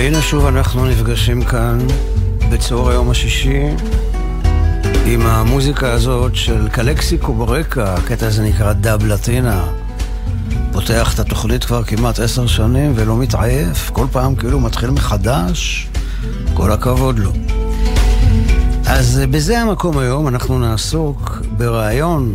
והנה שוב אנחנו נפגשים כאן בצהר היום השישי עם המוזיקה הזאת של קלקסיקו ברקע. הקטע הזה נקרא דאב לטינה. פותח את התוכנית כבר כמעט 10 שנים ולא מתעייף, כל פעם כאילו מתחיל מחדש. כל הכבוד לו. אז בזה המקום היום אנחנו נעסוק ברעיון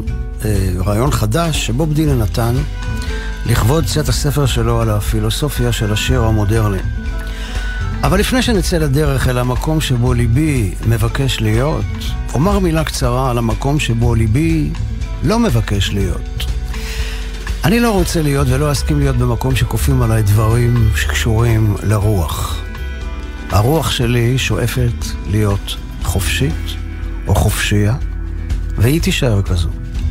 חדש שבוב דילן נתן לכבוד צאת הספר שלו על הפילוסופיה של השיר המודרני. אבל לפני שנצא לדרך אל המקום שבו ליבי מבקש להיות, אומר מילה קצרה על המקום שבו ליבי לא מבקש להיות. אני לא רוצה להיות ולא אסכים להיות במקום שכופים עליי דברים שקשורים לרוח. הרוח שלי שואפת להיות חופשית או חופשייה, והיא תישאר כזו.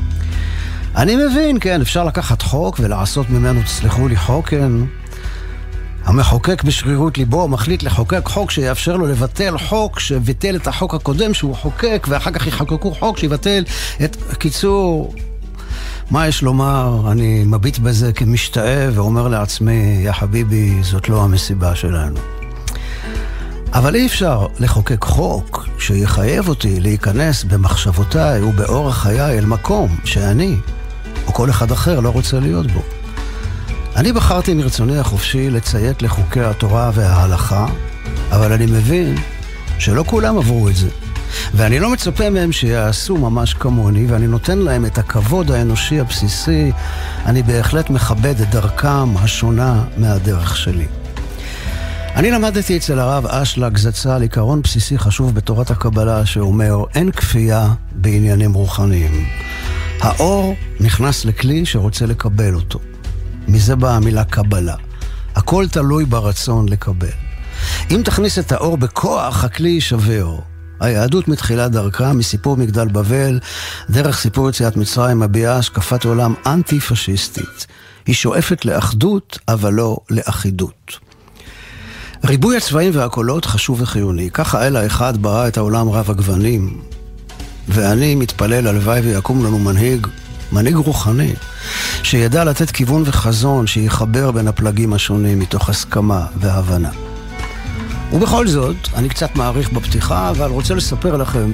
אני מבין, כן, אפשר לקחת חוק ולעשות ממנו, תסלחו לי, חוקן. המחוקק בשרירות ליבו מחליט לחוקק חוק שיאפשר לו לבטל חוק שביטל את החוק הקודם שהוא חוקק, ואחר כך יחוקקו חוק שיבטל את... קיצור, מה יש לומר? אני מביט בזה כמשתאה ואומר לעצמי, יא חביבי, זאת לא המסיבה שלנו. אבל אי אפשר לחוקק חוק שיחייב אותי להיכנס במחשבותיי ובאורח חיי אל מקום שאני או כל אחד אחר לא רוצה להיות בו. אני בחרתי מרצוני החופשי לציית לחוקי התורה וההלכה, אבל אני מבין שלא כולם עברו את זה. ואני לא מצפה מהם שיעשו ממש כמוני, ואני נותן להם את הכבוד האנושי הבסיסי. אני בהחלט מכבד את דרכם השונה מהדרך שלי. אני למדתי אצל הרב אשלג זצ"ל עיקרון בסיסי חשוב בתורת הקבלה שאומר, אין כפייה בעניינים רוחניים. האור נכנס לכלי שרוצה לקבל אותו. מזה באה המילה קבלה. הכל תלוי ברצון לקבל. אם תכניס את האור בכוח, הכלי יישבר. היהדות מתחילה דרכה מסיפור מגדל בבל, דרך סיפור יציאת מצרים, מביעה השקפת עולם אנטי-פשיסטית. היא שואפת לאחדות, אבל לא לאחידות. ריבוי הצבעים והקולות חשוב וחיוני. ככה האל האחד ברא את העולם רב הגוונים. ואני מתפלל הלוואי ויקום לנו מנהיג רוחני, שידע לתת כיוון וחזון שיחבר בין הפלגים השונים מתוך הסכמה והבנה. ובכל זאת, אני קצת מעריך בפתיחה, אבל רוצה לספר לכם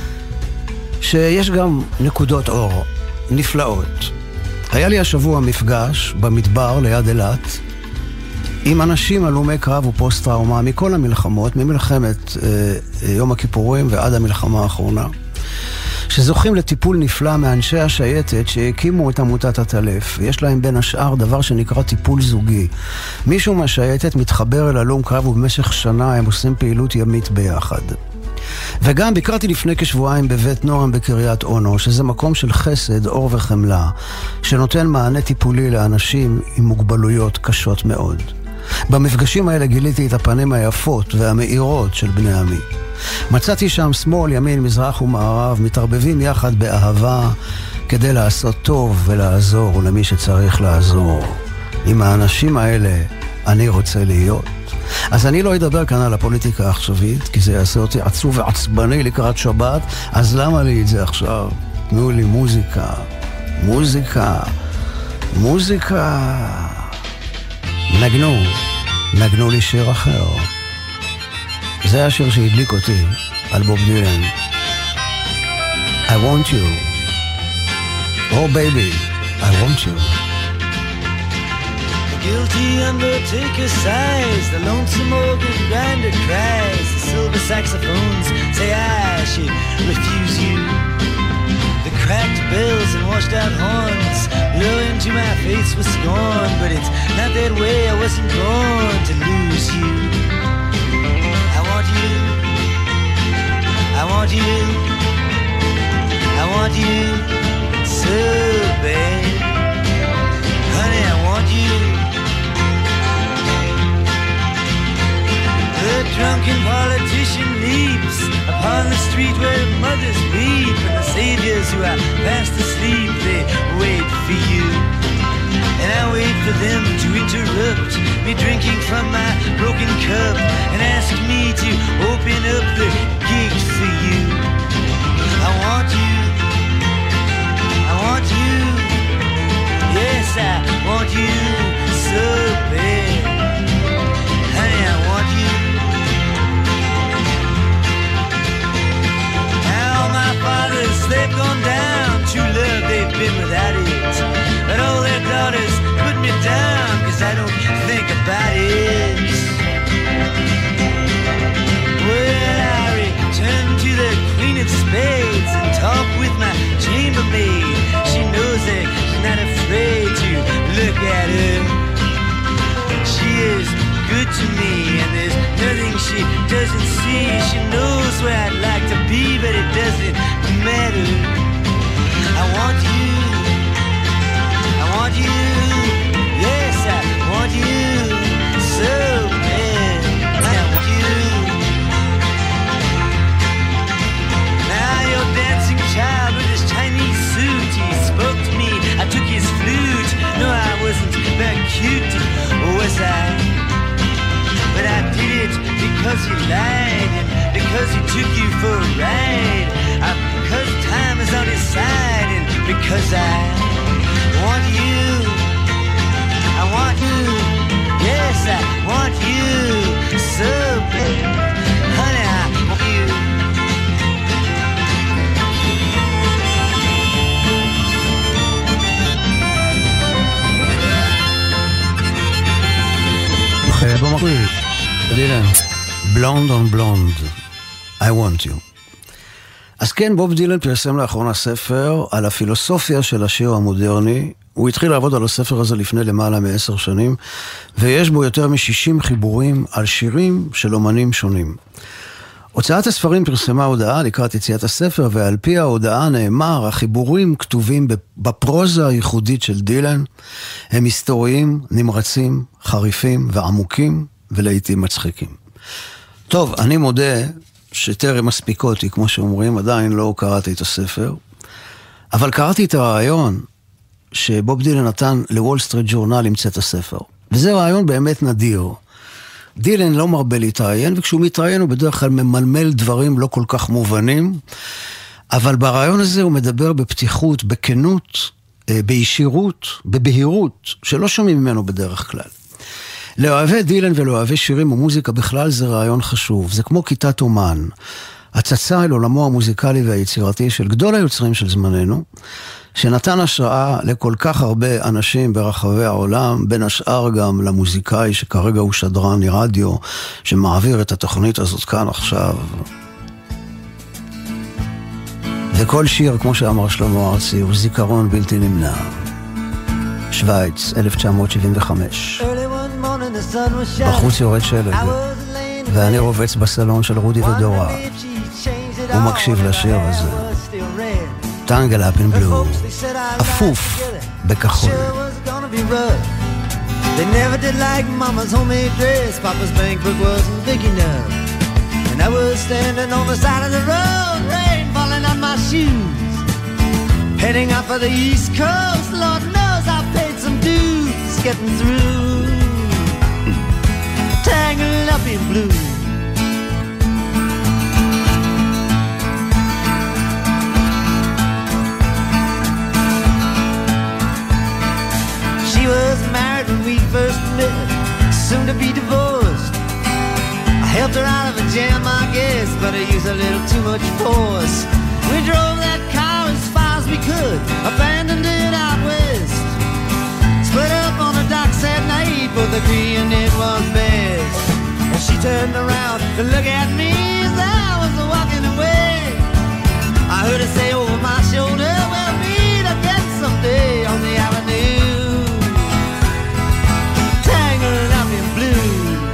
שיש גם נקודות אור נפלאות. היה לי השבוע מפגש במדבר ליד אילת עם אנשים הלומי קרב ופוסט-טראומה מכל המלחמות, ממלחמת יום הכיפורים ועד המלחמה האחרונה, שזוכים לטיפול נפלא מאנשי השייטת שהקימו את עמותת הטלף. יש להם בין השאר דבר שנקרא טיפול זוגי. מישהו מהשייטת מתחבר אל הלום קרב ובמשך שנה הם עושים פעילות ימית ביחד. וגם ביקרתי לפני כשבועיים בבית נועם בקריית אונו, שזה מקום של חסד, אור וחמלה, שנותן מענה טיפולי לאנשים עם מוגבלויות קשות מאוד. במפגשים האלה גיליתי את הפנים היפות והמאירות של בני עמי. מצאתי שם שמאל, ימין, מזרח ומערב, מתערבבים יחד באהבה כדי לעשות טוב ולעזור למי שצריך לעזור. עם האנשים האלה אני רוצה להיות. אז אני לא אדבר כאן על הפוליטיקה העכשווית, כי זה יעשה אותי עצוב ועצבני לקראת שבת, אז למה לי את זה עכשיו? תנו לי מוזיקה, מוזיקה, מוזיקה. נגנו לי שיר אחר. זה השיר שהדליק אותי על בוב דילן. I want you. Oh baby, I want you. The guilty undertaker sighs, the lonesome organ grinder cries, the silver saxophones say I should refuse you. The cracked bells and washed out horns blow into my face with scorn, but it's not that way, I wasn't born to lose you. I want you, I want you, I want you so bad. Honey, I want you. The drunken politician leaps upon the street where mothers weep, and the saviors who are fast asleep, they wait for you. And I wait for them to interrupt me drinking from my broken cup and ask me to open up the gate for you. I want you, I want you, yes I want you so bad. Honey, I want you. to me, and there's nothing she doesn't see. She knows where I'd like to be, but it doesn't matter. I want you, I want you, yes, I want you so bad. I want you. Now you're dancing child with his Chinese suit. He spoke to me, I took his flute. No, I wasn't very cute, was I? But I did it because he lied, and because he took you for a ride, because time is on his side, and because I want you, I want you, yes, I want you so bad, honey, I want you. במקביל, דילן, בלונד און בלונד, I want you. אז כן, בוב דילן פרסם לאחרונה ספר על הפילוסופיה של השיר המודרני. הוא התחיל לעבוד על הספר הזה לפני למעלה מ10 שנים, ויש בו יותר מ60 חיבורים על שירים של אומנים שונים. הוצאת הספרים פרסמה הודעה לקראת יציאת הספר, ועל פי ההודעה נאמר, החיבורים כתובים בפרוזה הייחודית של דילן, הם היסטוריים, נמרצים, חריפים ועמוקים, ולעיתים מצחיקים. טוב, אני מודה שטרם מספיקותי, כמו שאומרים, עדיין לא קראתי את הספר, אבל קראתי את הרעיון שבוב דילן נתן לוול סטריט ג'ורנל למצוא את הספר, וזה רעיון באמת נדיר. דילן לא מרבה להתראיין, וכשהוא מתראיין הוא בדרך כלל ממלמל דברים לא כל כך מובנים, אבל ברעיון הזה הוא מדבר בפתיחות, בכנות, בישירות, בבהירות, שלא שומעים ממנו בדרך כלל. לאוהבי דילן ולאוהבי שירים ומוזיקה בכלל זה רעיון חשוב, זה כמו כיתת אומן, הצצה אל עולמו המוזיקלי והיצירתי של גדול היוצרים של זמננו, שנתן השראה לכל כך הרבה אנשים ברחבי העולם, בין השאר גם למוזיקאי שכרגע הוא שדרן רדיו, שמעביר את התוכנית הזאת כאן עכשיו. וכל שיר, כמו שאמר שלמה ארצי, הוא זיכרון בלתי נמנע. שוויץ, 1975. בחוץ יורד שלג, ואני רובץ בסלון של רודי ודורה. הוא מקשיב לשיר הזה. Tangle up in blue, אפוף בכחול. They never did like mama's homemade dress. Papa's bank book wasn't big enough. And I was standing on the side of the road, rain falling on my shoes, heading out for the East Coast. Lord knows I paid some dues getting through. Tangled up in blue. She was married when we first met, soon to be divorced. I helped her out of a jam, I guess, but I used a little too much force. We drove that car as far as we could, abandoned it out west. Split up on the docks at night, both agreeing it was best. And she turned around to look at me as I was walking away. I heard her say over my shoulder, we'll meet again someday on the avenue. Tangled up in blue.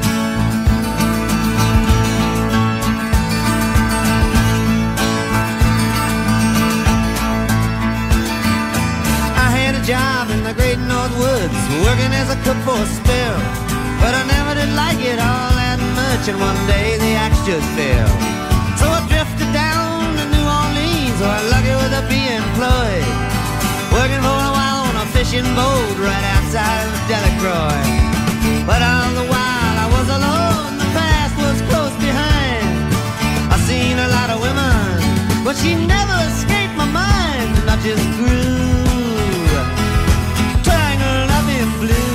I had a job in the great North Woods, working as a cook for a spell, but I never did like it all that much, and one day the axe just fell. So I drifted down to New Orleans, where lucky with a be employed, working for a while on a fishing boat right outside of Delacroix. But all the while I was alone, the past was close behind. I seen a lot of women, but she never escaped my mind, and I just grew tangled up in blue.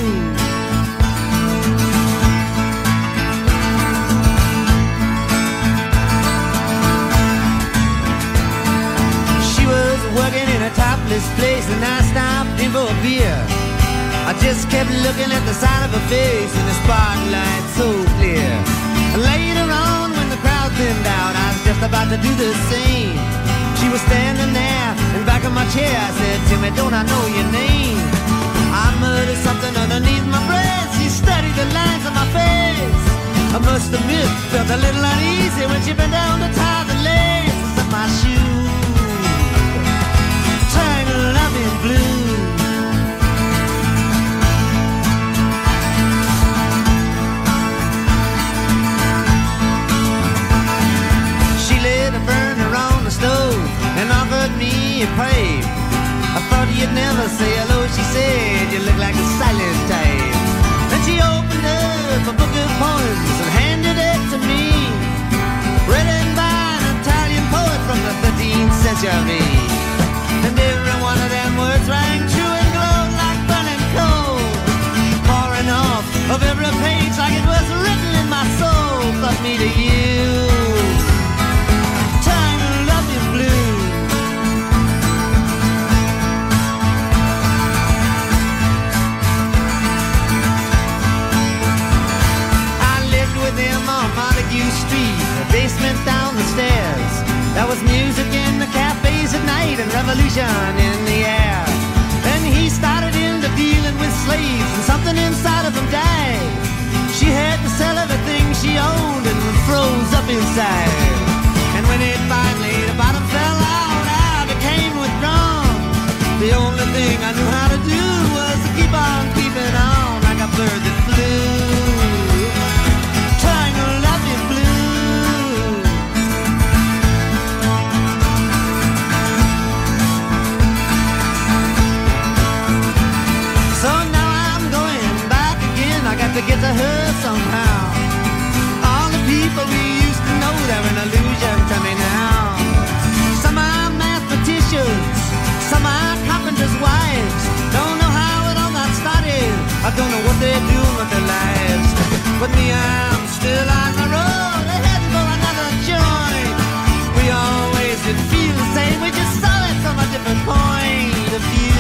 She was working in a topless place, and I stopped in for a beer. I just kept looking at the side of her face in the spotlight so clear. Later on, when the crowd thinned out, I was just about to do the same. She was standing there in back of my chair. I said, Timmy, don't I know your name? I muttered something underneath my breath. She studied the lines on my face. face. I must admit, felt a little uneasy when she bent down to tie the laces of my shoe. Tangled up in blue. She lit a burner on the stove and offered me a pipe. I thought you'd never say hello, she said, you look like a silent type. Then she opened up a book of poems and handed it to me, written by an Italian poet from the 13th century. And every one of them words rang true and glowed like burning coal, pouring off of every page like it was written in my soul. But me to you, tangled up in blue. Montague Street, a basement down the stairs. There was music in the cafes at night and revolution in the air. Then he started into dealing with slaves and something inside of him died. She had to sell everything she owned and froze up inside. And when it finally, the bottom fell out, I became withdrawn. The only thing I knew how to do was to keep on keeping on like a bird that flew. To get to her somehow. All the people we used to know, they're an illusion to me now. Some are mathematicians, some are carpenters' wives. Don't know how it all got started, I don't know what they're doing with their lives. But me, I'm still on the road, heading for another joint. We always did feel the same, we just saw it from a different point of view.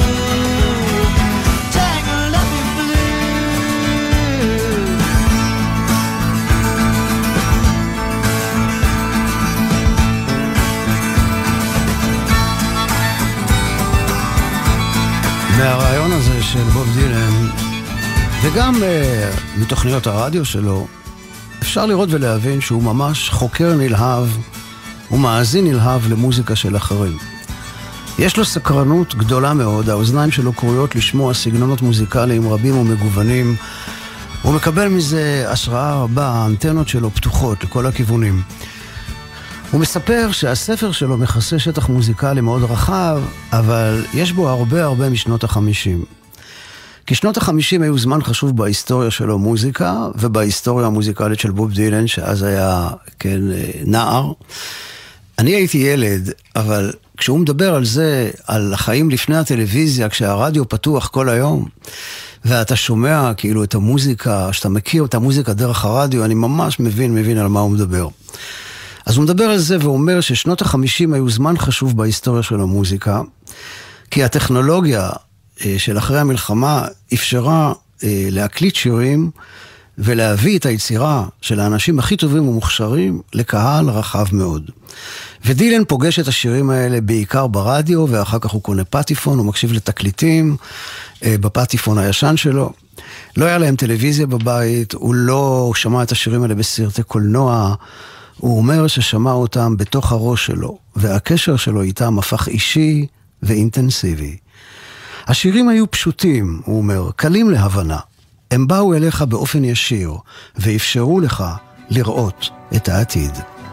מהרעיון הזה של בוב דילן וגם מתוכניות הרדיו שלו אפשר לראות ולהבין שהוא ממש חוקר נלהב ומאזין נלהב למוזיקה של אחרים. יש לו סקרנות גדולה מאוד, האוזניים שלו קרויות לשמוע סגנונות מוזיקליים רבים ומגוונים. הוא מקבל מזה השראה רבה, האנטנות שלו פתוחות לכל הכיוונים. הוא מספר שהספר שלו מכסה שטח מוזיקלי מאוד רחב, אבל יש בו הרבה משנות ה-50. כי שנות ה-50 היו זמן חשוב בהיסטוריה שלו מוזיקה, ובהיסטוריה המוזיקלית של בוב דילן, שאז היה נער. אני הייתי ילד, אבל כשהוא מדבר על זה, על החיים לפני הטלוויזיה, כשהרדיו פתוח כל היום, ואתה שומע כאילו את המוזיקה, שאתה מכיר את המוזיקה דרך הרדיו, אני ממש מבין על מה הוא מדבר. אז הוא מדבר על זה ואומר ששנות ה-50 היו זמן חשוב בהיסטוריה של המוזיקה, כי הטכנולוגיה של אחרי המלחמה אפשרה להקליט שירים ולהביא את היצירה של האנשים הכי טובים ומוכשרים לקהל רחב מאוד. ודילן פוגש את השירים האלה בעיקר ברדיו, ואחר כך הוא קונה פטיפון, הוא מקשיב לתקליטים בפטיפון הישן שלו. לא היה להם טלוויזיה בבית, הוא לא שמע את השירים האלה בסרטי קולנוע, הוא אומר ששמע אותם בתוך הראש שלו, והקשר שלו איתם הפך אישי ואינטנסיבי. השירים היו פשוטים, הוא אומר, קלים להבנה. הם באו אליך באופן ישיר, ואפשרו לך לראות את העתיד.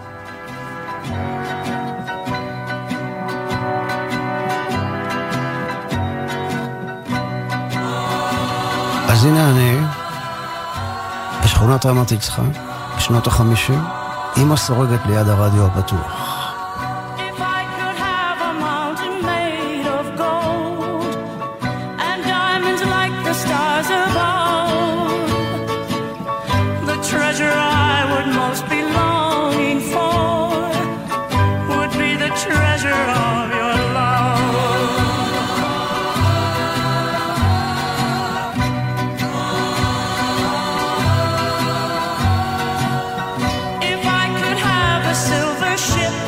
אז הנה אני, בשכונת רמת יצחק, בשנות ה-50, אמא סורגת ליד הרדיו הפתוח. Ship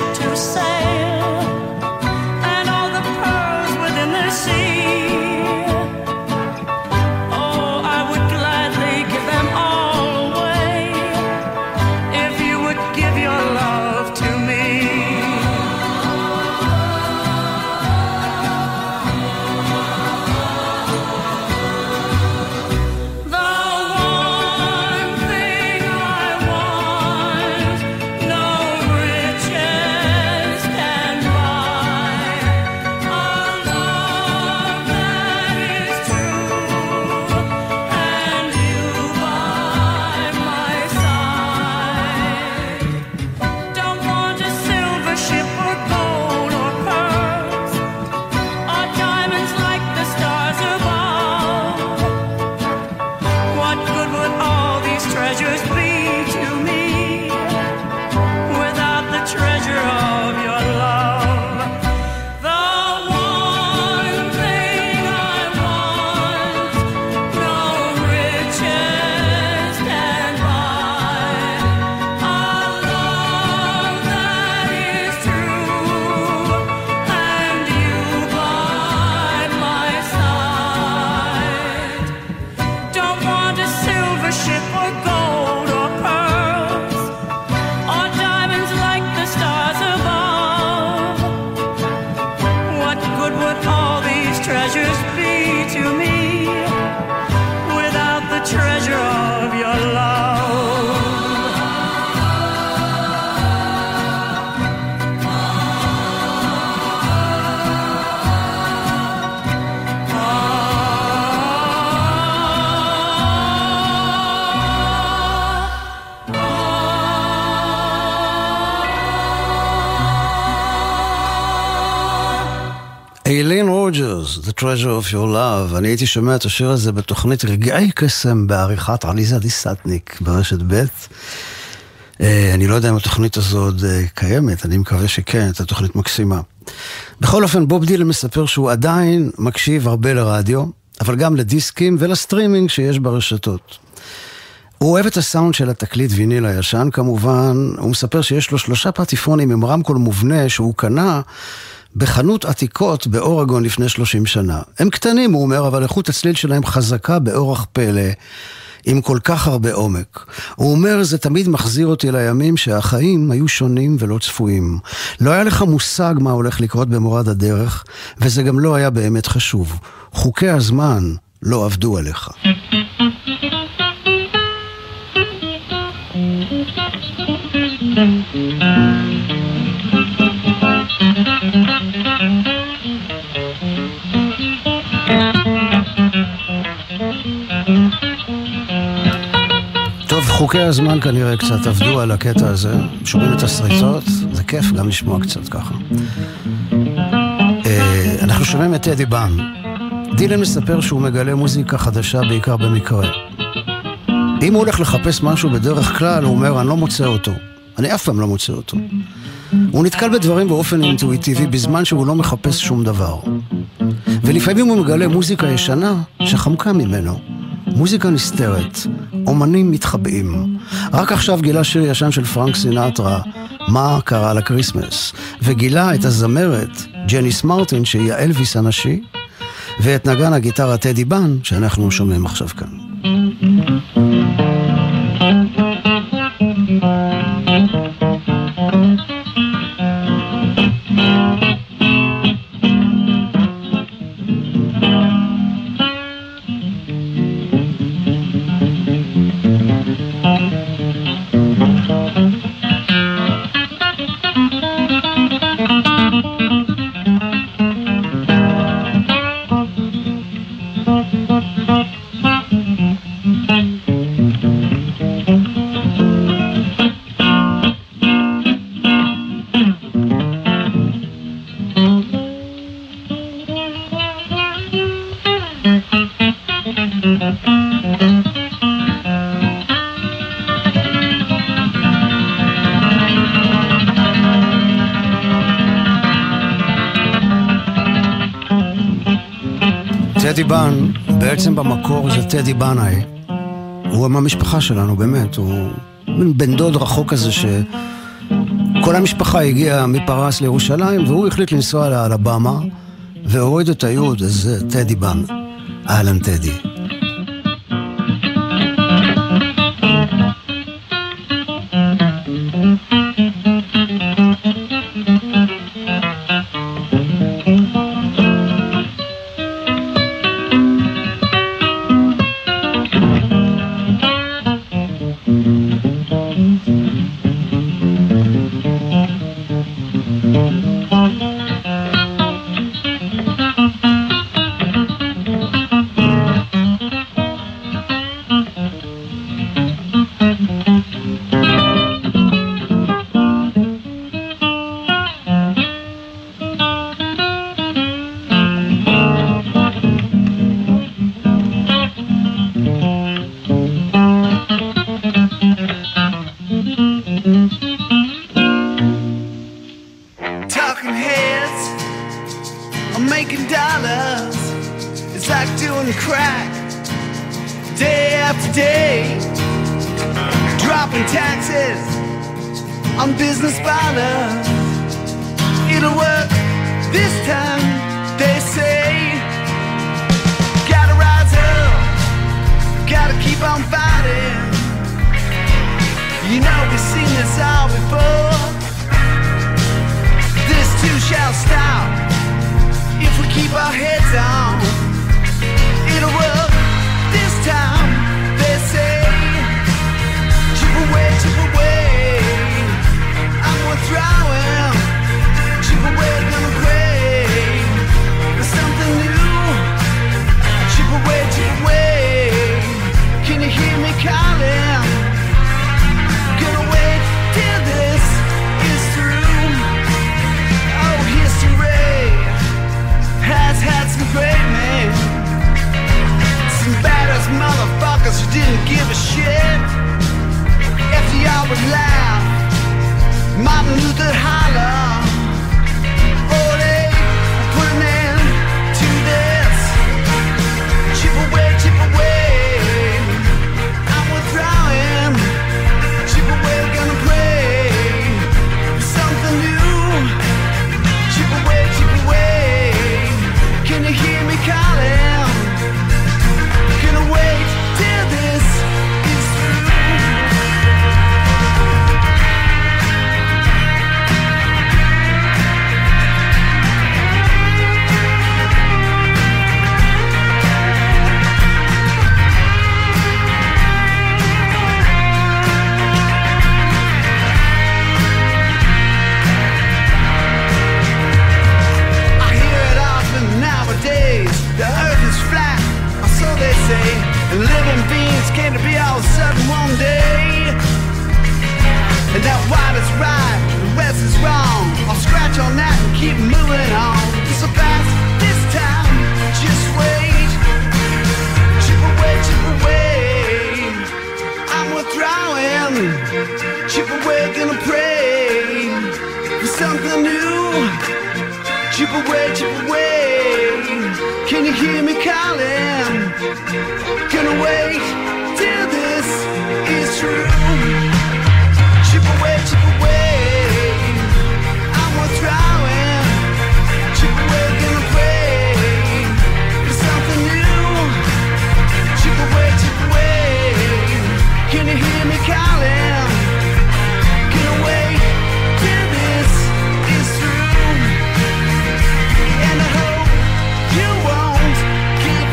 would all these treasures be to me without the treasure of your love? איילין רוג'רס, The Treasure of Your Love. אני הייתי שומע את השיר הזה בתוכנית רגעי קסם בעריכת עליזה דיסטניק ברשת ב'. אני לא יודע אם התוכנית הזו עוד קיימת, אני מקווה שכן, את התוכנית מקסימה. בכל אופן, בוב דילן מספר שהוא עדיין מקשיב הרבה לרדיו, אבל גם לדיסקים ולסטרימינג שיש ברשתות. הוא אוהב את הסאונד של התקליט ויניל הישן כמובן, הוא מספר שיש לו 3 פטיפונים עם רמקול מובנה שהוא קנה בחנות עתיקות באורגון לפני 30 שנה. הם קטנים, הוא אומר, אבל איכות הצליל שלהם חזקה באורח פלא, עם כל כך הרבה עומק. הוא אומר, זה תמיד מחזיר אותי לימים שהחיים היו שונים ולא צפויים. לא היה לך מושג מה הולך לקרות במורד הדרך, וזה גם לא היה באמת חשוב. חוקי הזמן לא עבדו עליך. טוב, חוקי הזמן כנראה קצת עבדו על הקטע הזה, שומעים את הסריטות, זה כיף גם לשמוע קצת ככה. אנחנו שומעים את טדי בן. דילן מספר שהוא מגלה מוזיקה חדשה בעיקר במקרה. אם הוא הולך לחפש משהו בדרך כלל, הוא אומר, אני לא מוצא אותו. אני אף פעם לא מוצא אותו. הוא נתקל בדברים באופן אינטואיטיבי בזמן שהוא לא מחפש שום דבר. ולפעמים הוא מגלה מוזיקה ישנה שחמקה ממנו. מוזיקה נסתרת, אומנים מתחבאים. רק עכשיו גילה שיר ישן של פרנק סינטרה, מה קרה לקריסמס, וגילה את הזמרת ג'ניס מרטין שהיא האלוויס הנשי, ואת נגן הגיטרה טדי בן שאנחנו שומעים עכשיו כאן. טדי בן, בעצם במקור זה טדי בנאי. הוא מהמשפחה שלנו, באמת. הוא בן דוד רחוק כזה שכל המשפחה הגיעה מפרס לירושלים, והוא החליט לנסוע על הבמה, והוריד את היוד, אז טדי בן. אהלן טדי. Shall stop if we our heads on. It'll work this time, they say. Chip away, I'm gonna throw him. Chip away, gonna pray for something new. Chip away, can you hear me calling? Gonna wait till this is through. Oh, history has had some great men, some badass motherfuckers who didn't give a shit. FDR would laugh, Martin Luther holler. Oh, they put an end to this. Chip away, I'm gonna throw him. Chip away, gonna pray for something new. Chip away, can you hear me calling? Gonna wait till this is through. The earth is flat, or so they say, and living beings came to be all of a sudden one day. And that white is right, the west is wrong. I'll scratch on that and keep moving on. So fast this time, just wait. Chip away, I'm gonna throw him. Chip away, gonna pray for something new. Chip away, can you hear me calling? Gonna wait till this is true. Chip away, I'm gonna throw him. Chip away, gonna pray for something new. Chip away, can you hear me calling? Gonna wait till this is through. And I hope you won't get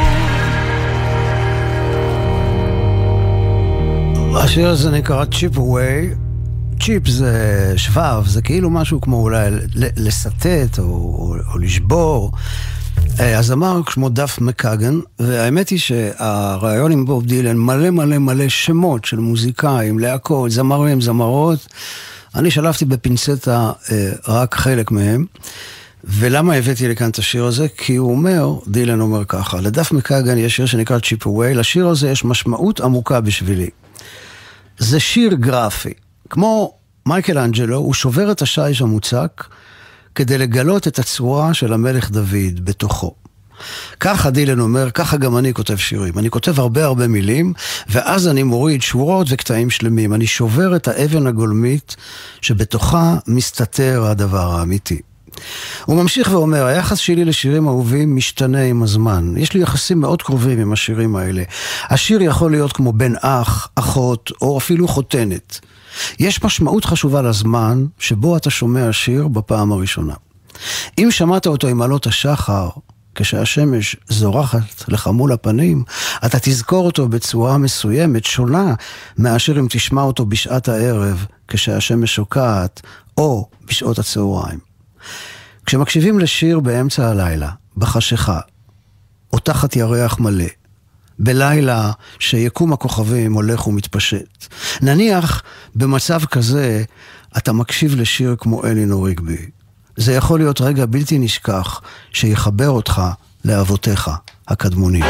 fooled. השיר הזה נקרא צ'יפ אווי. צ'יפ זה שבב, זה כאילו משהו כמו אולי לסטט או לשבור. הזמר כמו דף מקאגן, והאמת היא שהרעיון עם בוב דילן מלא שמות של מוזיקאים, להקות, זמרים, זמרות. אני שלפתי בפינצטה רק חלק מהם. ולמה הבאתי לכאן את השיר הזה? כי הוא אומר, דילן אומר ככה, לדף מקאגן יש שיר שנקרא צ'יפ אווי, לשיר הזה יש משמעות עמוקה בשבילי. זה שיר גרפי. כמו מייקל אנג'לו, הוא שובר את השיש המוצק כדי לגלות את הצורה של המלך דוד בתוכו. ככה דילן אומר, ככה גם אני כותב שירים. אני כותב הרבה מילים, ואז אני מוריד שורות וקטעים שלמים. אני שובר את האבן הגולמית שבתוכה מסתתר הדבר האמיתי. הוא ממשיך ואומר, היחס שלי לשירים אהובים משתנה עם הזמן. יש לי יחסים מאוד קרובים עם השירים האלה. השיר יכול להיות כמו בן אח, אחות, או אפילו חותנת. יש משמעות חשובה לזמן שבו אתה שומע שיר בפעם הראשונה. אם שמעת אותו עם עלות השחר, כשהשמש זורחת לך מול הפנים, אתה תזכור אותו בצורה מסוימת, שונה, מאשר אם תשמע אותו בשעת הערב, כשהשמש שוקעת, או בשעות הצהריים. כשמקשיבים לשיר באמצע הלילה, בחשיכה, או תחת ירח מלא, בלילה שיקום הכוכבים הולך ומתפשט, נניח במצב כזה אתה מקשיב לשיר כמו אלינור ריגבי. זה יכול להיות רגע בלתי נשכח שיחבר אותך לאבותיך הקדמונים.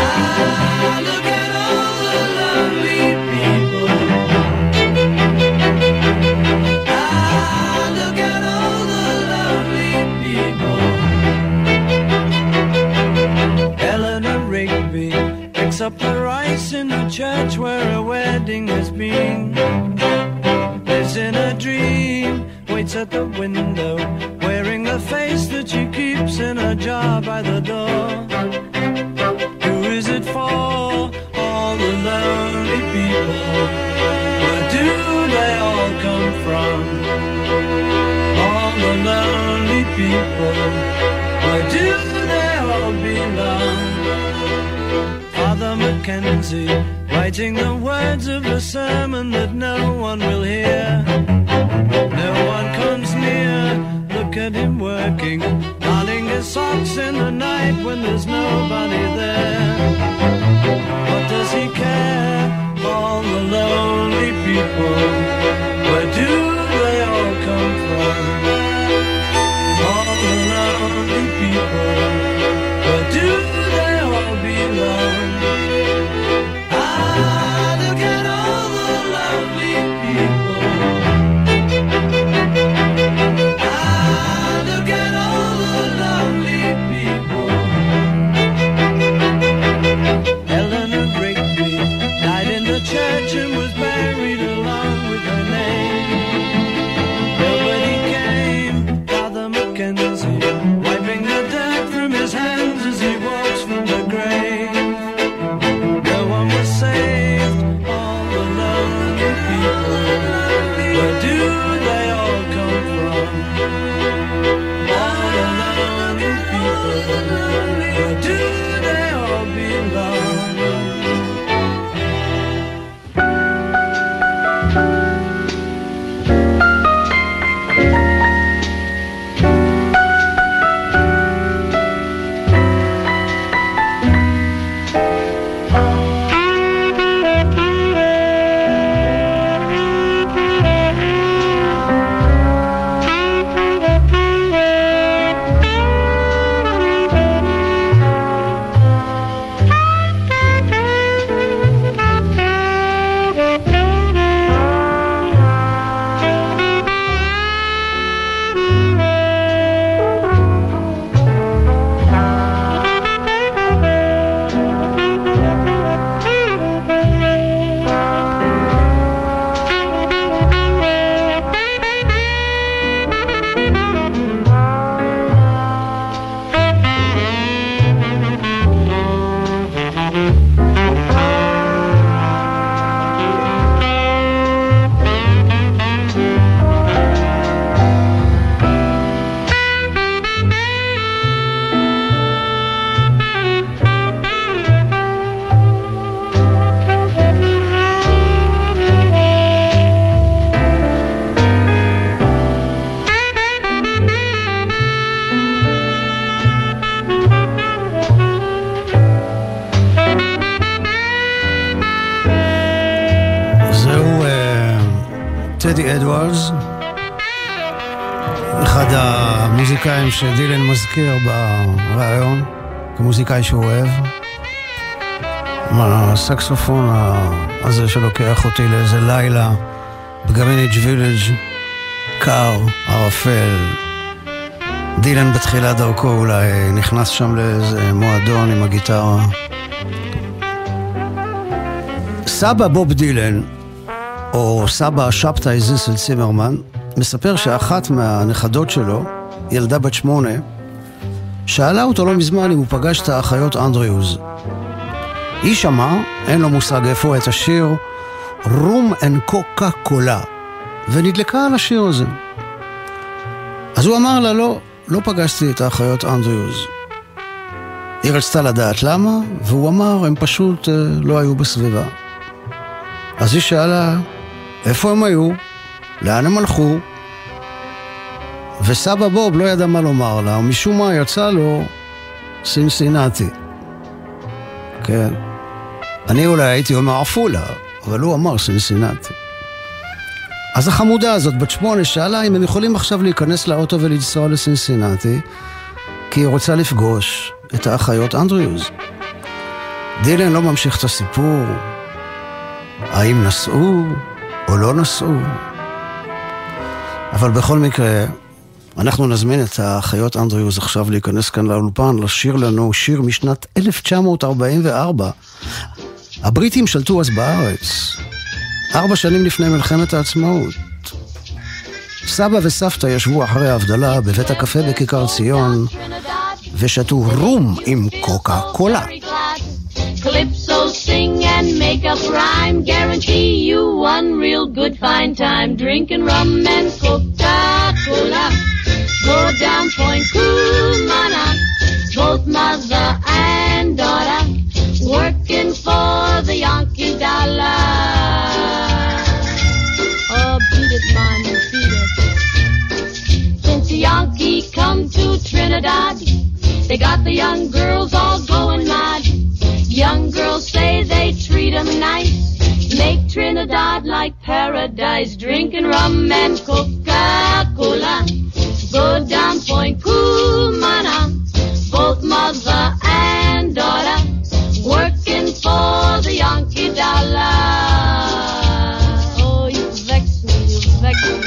Up the rice in the church where a wedding has been. Lives in a dream, waits at the window, wearing the face that she keeps in a jar by the door. Who is it for? All the lonely people. Where do they all come from? All the lonely people. Where do they all Mackenzie, writing the words of a sermon that no one will hear. No one comes near, look at him working, darning his socks in the night when there's nobody there. What does he care? All the lonely people, where do they all come from? All the lonely people, where do they all belong? Ah, look at all the lonely people. Ah, look at all the lonely people. Eleanor Rigby died in the church and was buried along with her name. Nobody came, Father Mackenzie, wiping the dirt from his hands as he walks from the grave. No one was saved, all the lonely people. Where do they all come from? All the lonely people. Where do they all belong? טדי אדוארדס, אחד המוזיקאים שדילן מזכיר ברעיון כמוזיקאי שהוא אוהב, הסקסופון הזה שלוקח אותי לאיזה לילה בגריניג' וילג' קר, ערפל. דילן בתחילת דרכו אולי נכנס שם לאיזה מועדון עם הגיטרה. סבא בוב דילן, או סבא שבתאי זיסל צימרמן, מספר שאחת מהנכדות שלו, ילדה בת 8, שאלה אותו לא מזמן אם הוא פגש את האחיות אנדריוז. היא שמע, אין לו מושג איפה, את השיר רום אנד קוקה קולה, ונדלקה על השיר הזה. אז הוא אמר לה, לא פגשתי את האחיות אנדריוז. היא רצתה לדעת למה, והוא אמר, הם פשוט לא היו בסביבה. אז היא שאלה, איפה הם היו? לאן הם הלכו? וסבא בוב לא ידע מה לומר לה, ומשום מה יצא לו סינסינטי. כן. אני אולי הייתי אומר עפולה, אבל הוא אמר סינסינטי. אז החמודה הזאת, בת 8, שאלה אם הם יכולים עכשיו להיכנס לאוטו ולנסוע לסינסינטי, כי היא רוצה לפגוש את האחיות אנדריוז. דילן לא ממשיך את הסיפור, האם נסעו או לא נסעו. אבל בכל מקרה, אנחנו נזמין את האחיות אנדריוז עכשיו להיכנס כאן לאולפן, לשיר לנו שיר משנת 1944. הבריטים שלטו אז בארץ, 4 שנים לפני מלחמת העצמאות. סבא וסבתא ישבו אחרי ההבדלה בבית הקפה בכיכר ציון, ושתו רום עם קוקה קולה. Calypso sing and make up rhyme, guarantee you one real good fine time, drinking rum and Coca-Cola. Go down Point Kumana, both mother and daughter, working for They got the young girls all going mad. Young girls say they treat them nice, make Trinidad like paradise, drinking rum and Coca-Cola. Go down Point Cumana, both mother and daughter, working for the Yankee dollar. Oh, you vex me, you vex me.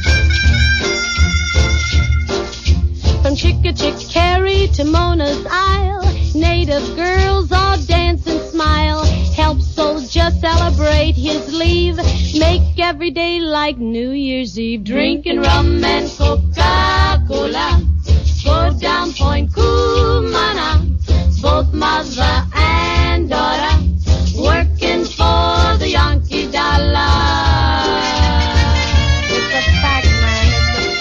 From Chickahominy to Mona's Isle, native girls all dance and smile, help soldier celebrate his leave, make every day like New Year's Eve, drinking rum and Coca-Cola. Go down Point Cumana, both mother and daughter, working for the Yankee dollar. It's a fact, man, it's a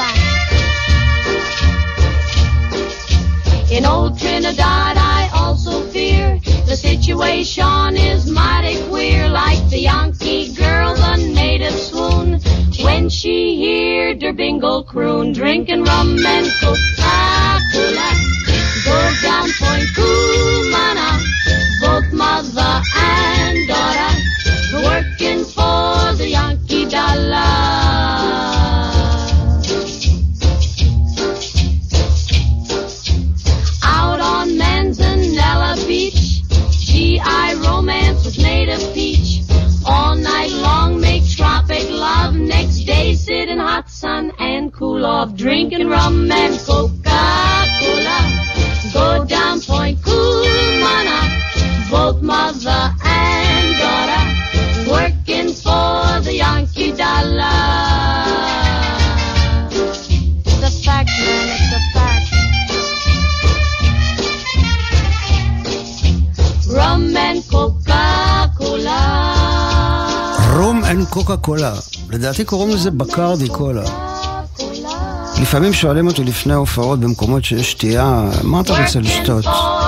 fact. In old Trinidad I also fear the situation is mighty queer, like the Yankee girl, the native swoon when she heard her bingle croon, drinking rum and Coca-Cola. Go down Point Cumana, both mother and daughter, working for the Yankee dollar. Out on Manzanella Beach, GI romance with native peach. All night long make tropic love, next day sit in hot sun and cool off, drinking rum and Coca-Cola. Go down Point Cumana, both mother and daughter, working for the Yankee dollar. It's a fact, man, it's a fact. Rum and Coca-Cola. רום אנד קוקה קולה, לדעתי קוראים לזה בקרדי קולה. לפעמים שואלים אותי לפני הופעות במקומות שיש שתייה, מה אתה רוצה לשתות?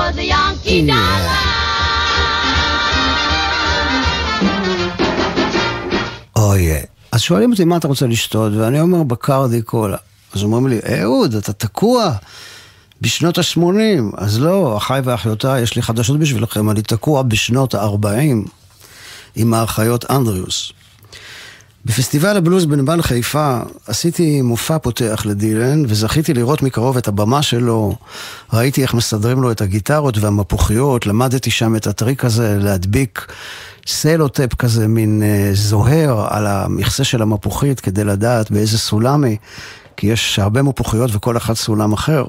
אוי, אז שואלים אותי מה אתה רוצה לשתות, ואני אומר בקרדי קולה. אז אומרים לי, אהוד, אתה תקוע בשנות ה-80. אז לא, אחי ואחיותיי, יש לי חדשות בשבילכם, אני תקוע בשנות ה-40 עם האחיות אנדריוס. בפסטיבל הבלוז בנמל חיפה עשיתי מופע פותח לדילן, וזכיתי לראות מקרוב את הבמה שלו. ראיתי איך מסדרים לו את הגיטרות והמפוחיות, למדתי שם את הטריק הזה להדביק סלוטפ כזה, מין זוהר על המכסה של המפוחית, כדי לדעת באיזה סולמי, כי יש הרבה מפוחיות וכל אחד סולם אחר.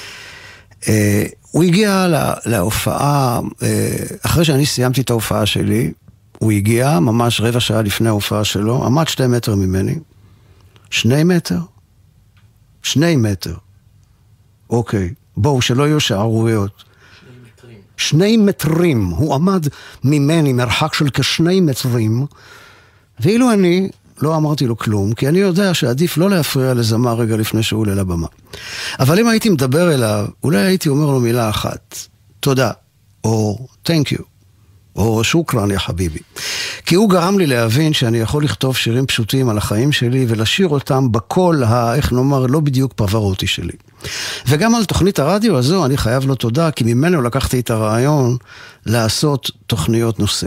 הוא הגיע להופעה, אחרי שאני סיימתי את ההופעה שלי, הוא הגיע ממש רבע שעה לפני ההופעה שלו, עמד 2 מטר ממני. 2 מטר? 2 מטר. אוקיי, בואו, שלא יהיו שערוריות. 2 מטרים. הוא עמד ממני מרחק של כ2 מטרים, ואילו אני לא אמרתי לו כלום, כי אני יודע שעדיף לא להפריע לזמר רגע לפני שהוא עולה לבמה. אבל אם הייתי מדבר אליו, אולי הייתי אומר לו מילה אחת, תודה, או thank you. או שוקרן יא חביבי. כי הוא גרם לי להבין שאני יכול לכתוב שירים פשוטים על החיים שלי, ולשיר אותם בקול, איך נאמר, לא בדיוק פרוורותי שלי. וגם על תוכנית הרדיו הזו אני חייב לו תודה, כי ממנו לקחתי את הרעיון לעשות תוכניות נושא.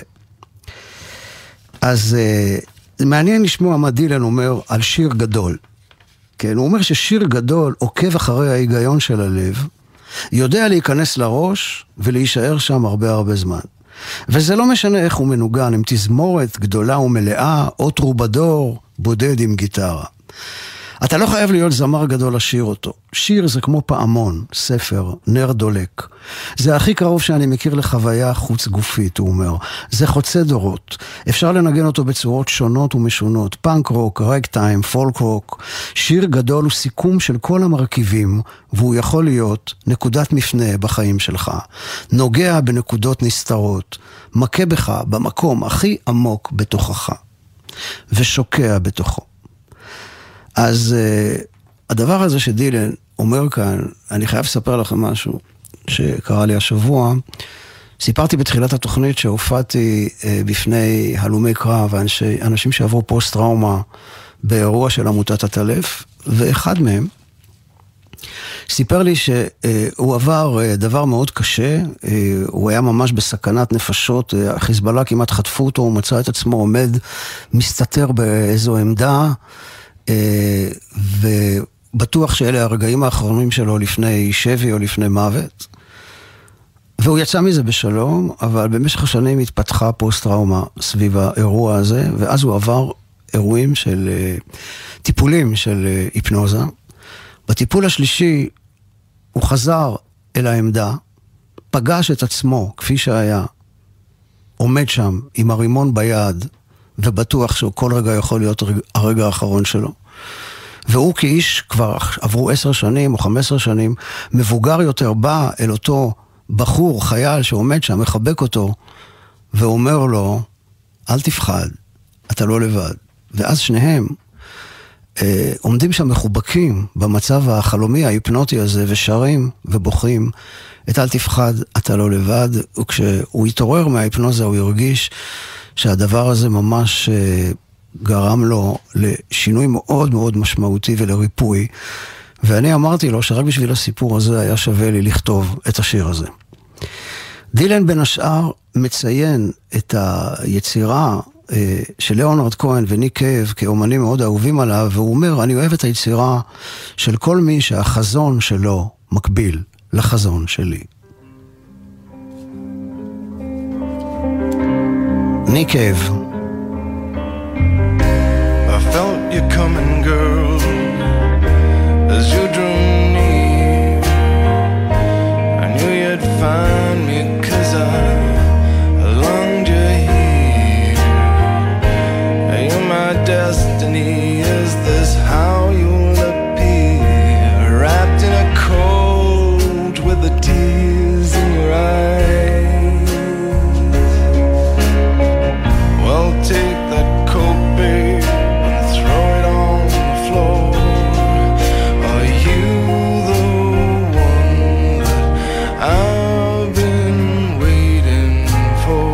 אז מעניין לשמוע מה דילן אומר על שיר גדול. כן, הוא אומר ששיר גדול עוקב אחרי ההיגיון של הלב, יודע להיכנס לראש ולהישאר שם הרבה זמן. וזה לא משנה איך הוא מנוגן, עם תזמורת גדולה ומלאה, או טרובדור בודד עם גיטרה. אתה לא חייב להיות זמר גדול לשיר אותו. שיר זה כמו פעמון, ספר, נר דולק. זה הכי קרוב שאני מכיר לחוויה חוץ גופית, הוא אומר. זה חוצה דורות. אפשר לנגן אותו בצורות שונות ומשונות. פאנק רוק, רגטיים, פולק רוק. שיר גדול הוא סיכום של כל המרכיבים, והוא יכול להיות נקודת מפנה בחיים שלך. נוגע בנקודות נסתרות. מכה בך במקום הכי עמוק בתוכך. ושוקע בתוכו. אז הדבר הזה שדילן אומר כאן, אני חייב לספר לכם משהו שקרה לי השבוע. סיפרתי בתחילת התוכנית שהופעתי בפני הלומי קרב, אנשים שעברו פוסט-טראומה באירוע של עמותת הטלף, ואחד מהם, סיפר לי שהוא עבר דבר מאוד קשה, הוא היה ממש בסכנת נפשות, החיזבאללה כמעט חטפו אותו, הוא מצא את עצמו עומד, מסתתר באיזו עמדה, ובטוח שאלה הרגעים האחרונים שלו לפני שבי או לפני מוות. והוא יצא מזה בשלום, אבל במשך השנים התפתחה פוסט-טראומה סביב האירוע הזה, ואז הוא עבר אירועים של טיפולים של היפנוזה. בטיפול השלישי הוא חזר אל העמדה, פגש את עצמו כפי שהיה, עומד שם עם הרימון ביד, ובטוח שהוא כל רגע יכול להיות הרגע האחרון שלו. והוא כאיש כבר עברו 10 שנים או 15 שנים, מבוגר יותר בא אל אותו בחור, חייל שעומד שם, מחבק אותו, ואומר לו, אל תפחד, אתה לא לבד. ואז שניהם עומדים שם מחובקים במצב החלומי ההיפנוטי הזה, ושרים ובוכים, את אל תפחד, אתה לא לבד. וכשהוא התעורר מההיפנוזה, הוא הרגיש שהדבר הזה ממש גרם לו לשינוי מאוד מאוד משמעותי ולריפוי. ואני אמרתי לו שרק בשביל הסיפור הזה היה שווה לי לכתוב את השיר הזה. דילן בין השאר מציין את היצירה של ליאונרד כהן וניק קייב כאומנים מאוד אהובים עליו, והוא אומר, אני אוהב את היצירה של כל מי שהחזון שלו מקביל לחזון שלי. ניק קייב. I felt you coming, girl, as you drew near. I knew you'd find me 'cause I longed you here. You're my destiny, is this how you'll appear? Wrapped in a coat with the tears in your eyes. Well, take that coat, babe, and throw it on the floor. Are you the one that I've been waiting for?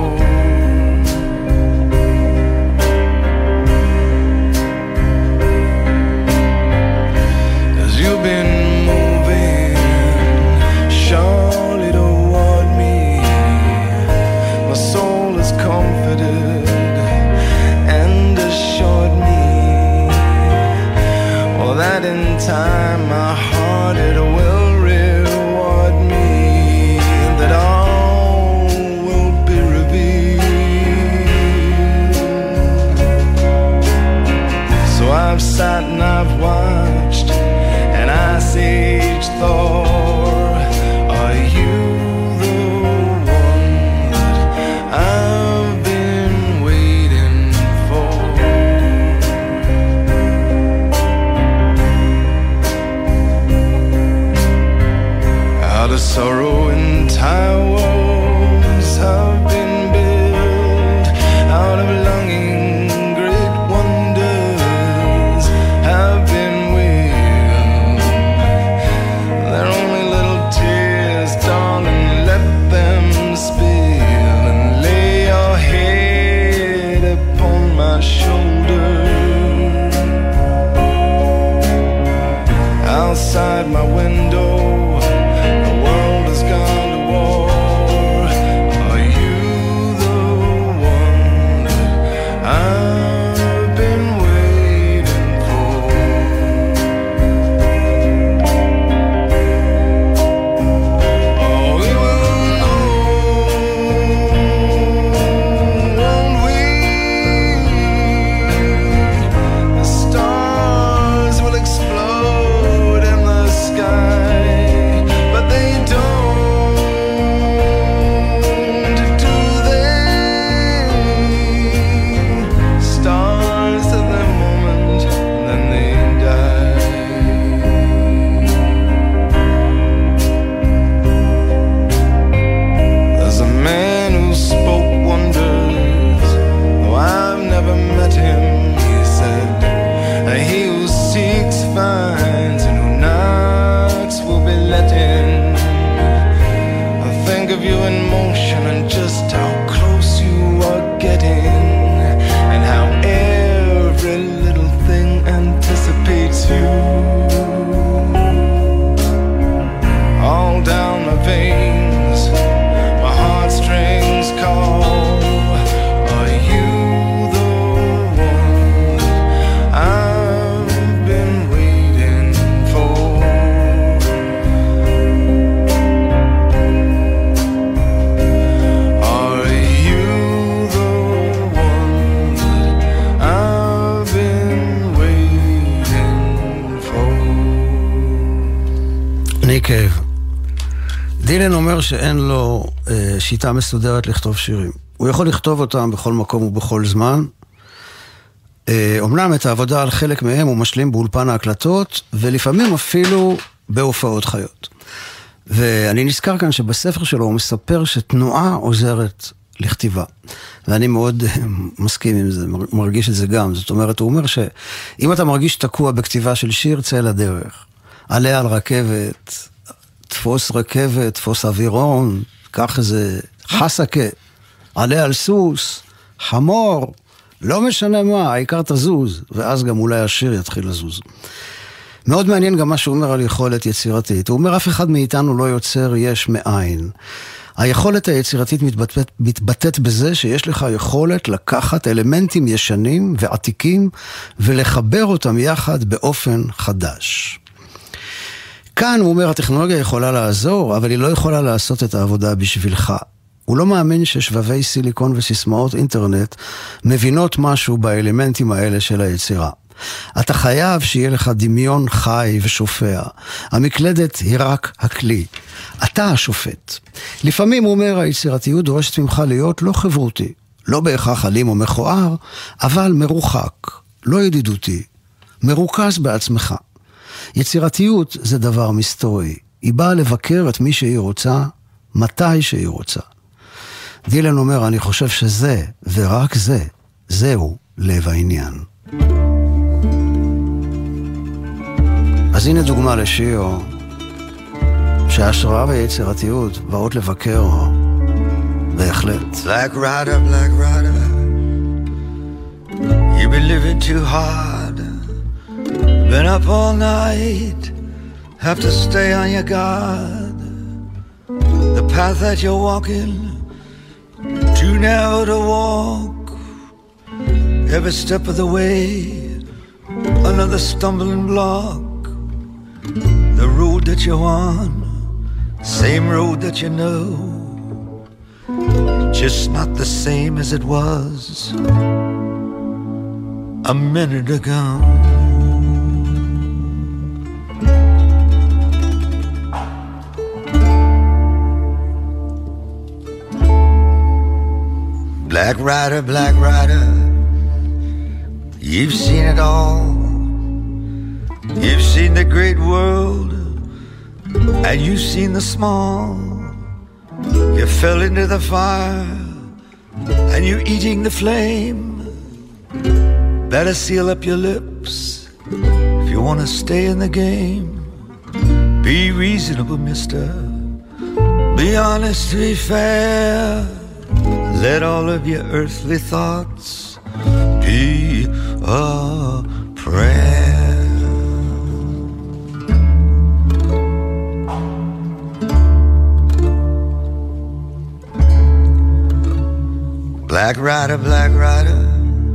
'Cause you've been moving surely toward me. My soul is comforted and assured me, well, that in time my heart it will reward me, that all will be revealed. So I've sat and I've watched and I sage Thor. Are you the one that I've been waiting for? Out of sorrow entire walls have been built, out of longing great wonders have been willed. They're only little tears, darling, let them spill, and lay your head upon my shoulder. Outside my window, the world has gone to war. Are you the one that I've been waiting for? Oh, we will know, won't we? The stars will explode in the sky, but they don't, do they? Stars at their moment, then they die. There's a man who spoke wonders, though I've never met him. He said, he who seeks finds, and who knocks will be let in. I think of you in motion and just how close you are getting, and how every little thing anticipates you. אומר שאין לו שיטה מסודרת לכתוב שירים. הוא יכול לכתוב אותם בכל מקום ובכל זמן. אומנם את העבודה על חלק מהם הוא משלים באולפן ההקלטות, ולפעמים אפילו בהופעות חיות. ואני נזכר כאן שבספר שלו הוא מספר שתנועה עוזרת לכתיבה. ואני מאוד מסכים עם זה, מרגיש את זה גם. זאת אומרת, הוא אומר שאם אתה מרגיש תקוע בכתיבה של שיר, צא לדרך. עלה על רכבת, תפוס רכבת, תפוס אווירון, קח איזה חסקה, עלה על סוס, חמור, לא משנה מה, העיקר תזוז, ואז גם אולי השיר יתחיל לזוז. מאוד מעניין גם מה שהוא אומר על יכולת יצירתית. הוא אומר, אף אחד מאיתנו לא יוצר יש מאין. היכולת היצירתית מתבטאת בזה שיש לך יכולת לקחת אלמנטים ישנים ועתיקים ולחבר אותם יחד באופן חדש. כאן הוא אומר, הטכנולוגיה יכולה לעזור, אבל היא לא יכולה לעשות את העבודה בשבילך. הוא לא מאמין ששבבי סיליקון וסיסמאות אינטרנט מבינות משהו באלמנטים האלה של היצירה. אתה חייב שיהיה לך דמיון חי ושופע. המקלדת היא רק הכלי. אתה השופט. לפעמים, הוא אומר, היצירתיות דורשת ממך להיות לא חברותי, לא בהכרח אלים או מכוער, אבל מרוחק, לא ידידותי, מרוכז בעצמך. יצירתיות זה דבר מסתורי. היא באה לבקר את מי שהיא רוצה, מתי שהיא רוצה. דילן אומר, אני חושב שזה, ורק זה, זהו לב העניין. אז הנה דוגמה לשיר שההשראה והיצירתיות באות לבקר בהחלט. Black rider, you've been living too hard, been up all night, have to stay on your guard. The path that you're walking, too narrow to walk, every step of the way, another stumbling block. The road that you're on, same road that you know, just not the same as it was a minute ago. Black rider, you've seen it all. You've seen the great world, and you've seen the small. You fell into the fire, and you're eating the flame. Better seal up your lips if you want to stay in the game. Be reasonable, mister. Be honest, be fair. Let all of your earthly thoughts be a prayer. Black rider,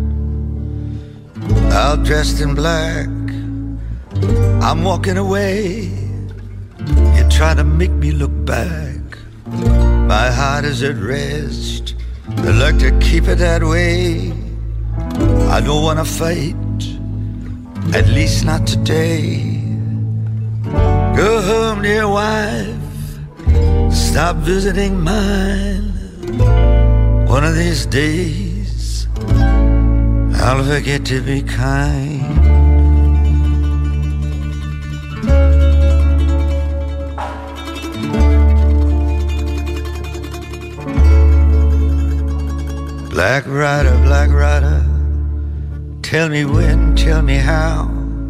all dressed in black, I'm walking away. You try to make me look back. My heart is at rest, I'd like to keep it that way. I don't want to fight, at least not today. Go home, dear wife, stop visiting mine. One of these days, I'll forget to be kind. Black rider, tell me when, tell me how.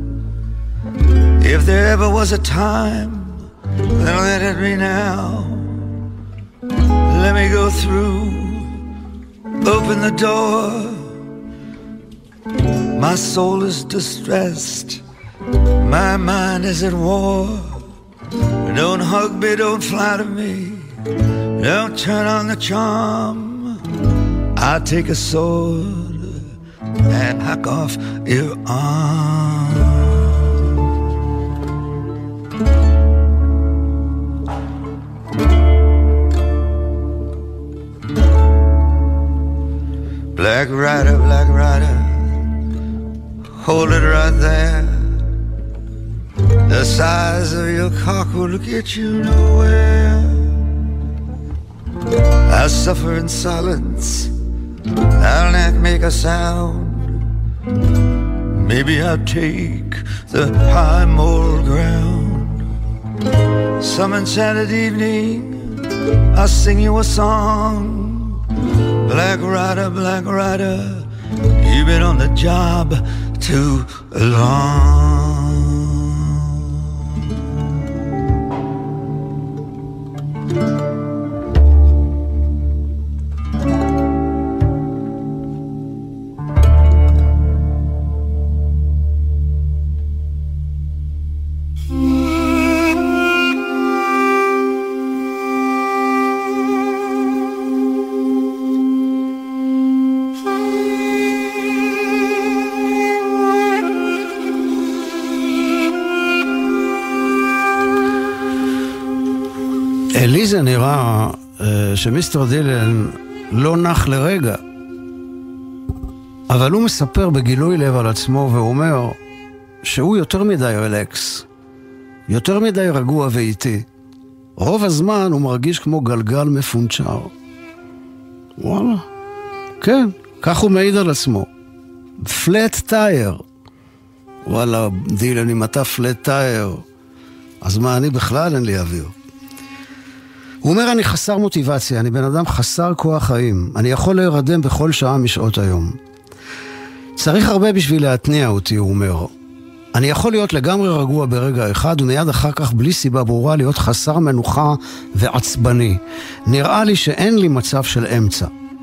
If there ever was a time, then let it be now. Let me go through, open the door. My soul is distressed, my mind is at war. Don't hug me, don't flatter me, don't turn on the charm. I'll take a sword and hack off your arm. Black rider, hold it right there. The size of your cock will get you nowhere. I suffer in silence. I'll not make a sound. Maybe I'll take the high moral ground. Some enchanted evening I'll sing you a song. Black rider, you've been on the job too long. לי זה נראה שמיסטר דילן לא נח לרגע, אבל הוא מספר בגילוי לב על עצמו ואומר שהוא יותר מדי רלקס, יותר מדי רגוע ואיטי. רוב הזמן הוא מרגיש כמו גלגל מפונצ'ר. וואלה, כן, כך הוא מעיד על עצמו. פלט טייר. וואלה, דילן, אם אתה פלט טייר, אז מה, אני בכלל אין לי אוויר. הוא אומר, אני חסר מוטיבציה, אני בן אדם חסר כוח חיים, אני יכול להירדם בכל שעה משעות היום. צריך הרבה בשביל להתניע אותי, הוא אומר. אני יכול להיות לגמרי רגוע ברגע אחד, ומיד אחר כך בלי סיבה ברורה להיות חסר מנוחה ועצבני. נראה לי שאין לי מצב של אמצע.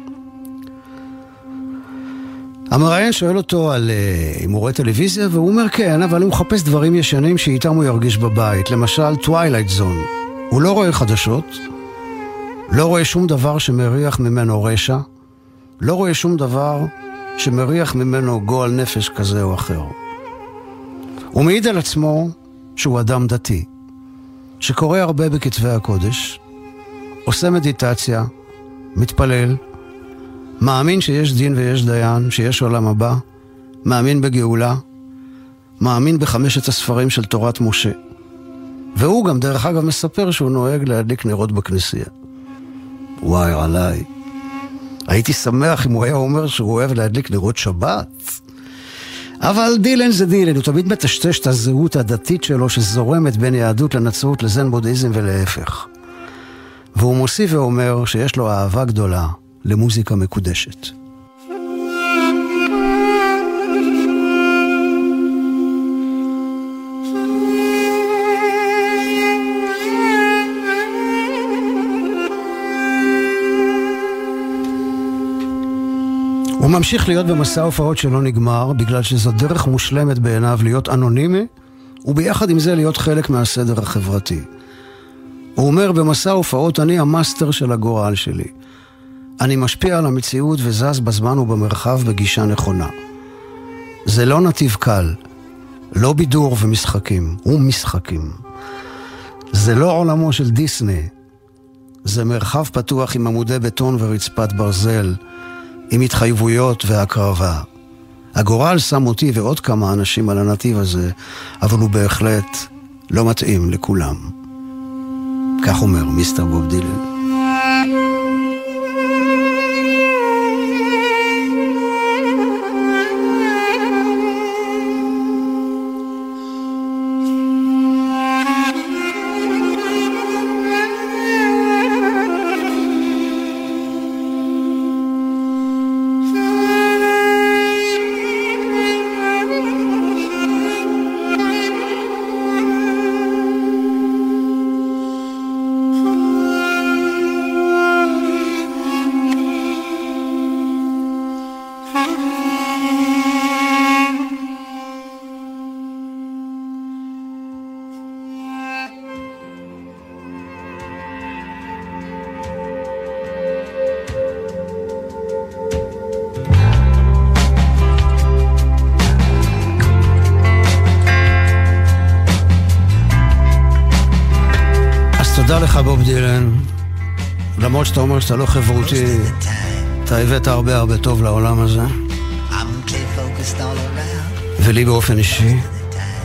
המראיין שואל אותו על אם הוא רואה טלוויזיה, והוא אומר כן, אבל הוא מחפש דברים ישנים שאיתם הוא ירגיש בבית, למשל טווילייט זון. הוא לא רואה חדשות, לא רואה שום דבר שמריח ממנו רשע, לא רואה שום דבר שמריח ממנו גועל נפש כזה או אחר. הוא מעיד על עצמו שהוא אדם דתי, שקורא הרבה בכתבי הקודש, עושה מדיטציה, מתפלל, מאמין שיש דין ויש דיין, שיש עולם הבא, מאמין בגאולה, מאמין בחמשת הספרים של תורת משה. והוא גם דרך אגב מספר שהוא נוהג להדליק נרות בכנסייה. וואי עליי, הייתי שמח אם הוא היה אומר שהוא אוהב להדליק נרות שבת. אבל דילן זה דילן, הוא תמיד מטשטש את הזהות הדתית שלו שזורמת בין יהדות לנצרות לזן בודהיזם ולהפך. והוא מוסיף ואומר שיש לו אהבה גדולה למוזיקה מקודשת. הוא ממשיך להיות במסע הופעות שלא נגמר, בגלל שזו דרך מושלמת בעיניו להיות אנונימי, וביחד עם זה להיות חלק מהסדר החברתי. הוא אומר, במסע הופעות אני המאסטר של הגורל שלי. אני משפיע על המציאות וזז בזמן ובמרחב בגישה נכונה. זה לא נתיב קל, לא בידור ומשחקים, ומשחקים. זה לא עולמו של דיסני, זה מרחב פתוח עם עמודי בטון ורצפת ברזל, עם התחייבויות והקרבה. הגורל שם אותי ועוד כמה אנשים על הנתיב הזה, אבל הוא בהחלט לא מתאים לכולם. כך אומר מיסטר בוב דילן. תודה לך בוב דילן, למרות שאתה אומר שאתה לא חברותי, אתה הבאת הרבה טוב לעולם הזה, ולי באופן אישי.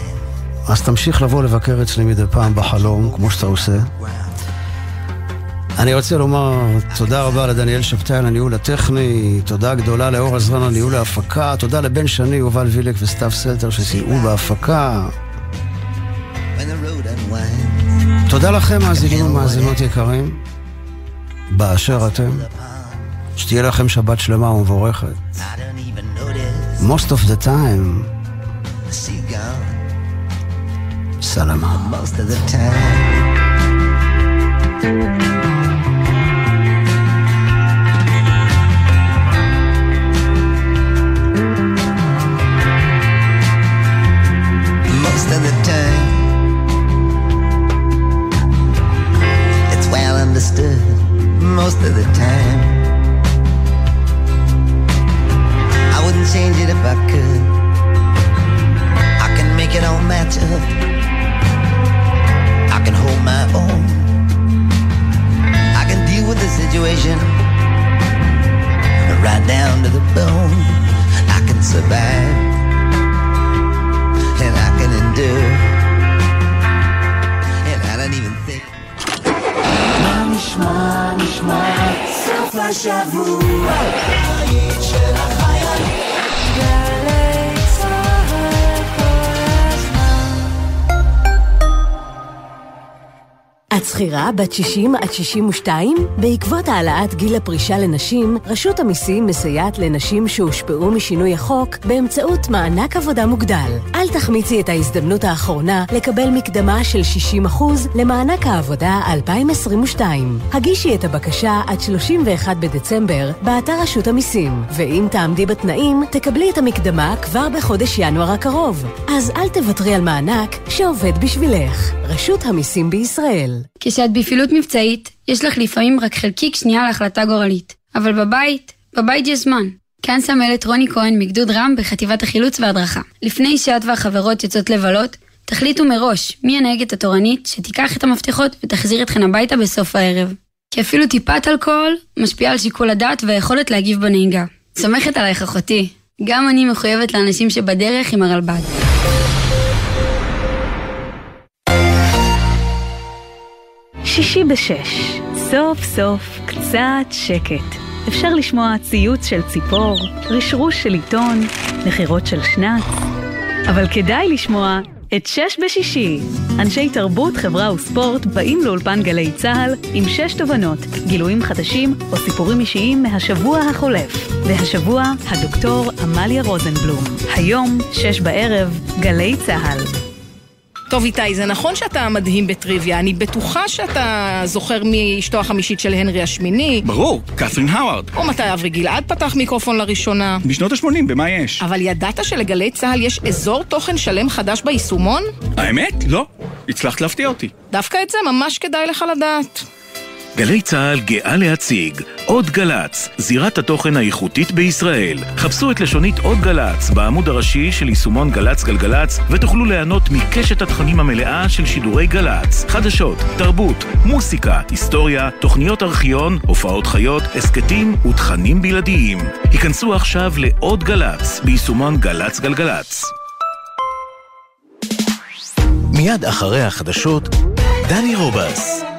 אז תמשיך לבוא לבקר אצלי מדי פעם בחלום, כמו שאתה עושה. אני רוצה לומר תודה רבה לדניאל שבתאי על הניהול הטכני, תודה גדולה לאור עזרן על ניהול ההפקה, תודה לבן שני, יובל וילק וסתיו סלטר שסייעו בהפקה. תודה לכם מאזינים ומאזינות יקרים באשר אתם, שתהיה לכם שבת שלמה ומבורכת. Most of the time סלמה. Most of the time most of the time it's well understood most of the time I wouldn't change it if I could I can make it all match up I can hold my own I can deal with the situation right down to the bone I can survive and I can endure and I don't even think נשמע סוף השבוע היית של החיילים גלי צהל כל הזמן את שכירה בת 60 עד 62? בעקבות העלאת גיל הפרישה לנשים, רשות המיסים מסייעת לנשים שהושפעו משינוי החוק באמצעות מענק עבודה מוגדל. אל תחמיצי את ההזדמנות האחרונה לקבל מקדמה של 60% למענק העבודה 2022. הגישי את הבקשה עד 31 בדצמבר באתר רשות המיסים, ואם תעמדי בתנאים, תקבלי את המקדמה כבר בחודש ינואר הקרוב. אז אל תוותרי על מענק שעובד בשבילך. רשות המיסים בישראל. כשאת בפעילות מבצעית, יש לך לפעמים רק חלקיק שנייה להחלטה גורלית. אבל בבית יש זמן. כאן סמלת רוני כהן מגדוד רם בחטיבת החילוץ והדרכה. לפני שאת והחברות יוצאות לבלות, תחליטו מראש מי הנהגת התורנית שתיקח את המפתחות ותחזיר אתכן הביתה בסוף הערב. כי אפילו טיפת אלכוהול משפיעה על שיקול הדעת והיכולת להגיב בנהיגה. סומכת עלייך אחותי. גם אני מחויבת לאנשים שבדרך עם הרלב"ד. שישי בשש, סוף סוף קצת שקט. אפשר לשמוע ציוץ של ציפור, רשרוש של עיתון, נחירות של שנץ. אבל כדאי לשמוע את 6 בשישי. אנשי תרבות, חברה וספורט באים לאולפן גלי צהל עם 6 תובנות, גילויים חדשים או סיפורים אישיים מהשבוע החולף. והשבוע הדוקטור אמליה רוזנבלום. היום 6 בערב, גלי צהל. טוב איתי, זה נכון שאתה מדהים בטריוויה, אני בטוחה שאתה זוכר מאשתו החמישית של הנרי השמיני. ברור, קת'רין האווארד. או מתי אברי גלעד פתח מיקרופון לראשונה. בשנות ה-80, במה יש? אבל ידעת שלגלי צהל יש אזור תוכן שלם חדש ביישומון? האמת? לא. הצלחת להפתיע אותי. דווקא את זה ממש כדאי לך לדעת. גלי צהל גאה להציג עוד גלץ, זירת התוכן האיכותית בישראל. חפשו את לשונית עוד גלץ בעמוד הראשי של יישומון גלץ גלגלץ ותוכלו ליהנות מקשת התכנים המלאה של שידורי גלץ. חדשות, תרבות, מוסיקה, היסטוריה, תוכניות ארכיון, הופעות חיות, הסקטים ותכנים בלעדיים. היכנסו עכשיו לעוד גלץ ביישומון גלץ גלגלץ. מיד אחרי החדשות, דני רובס.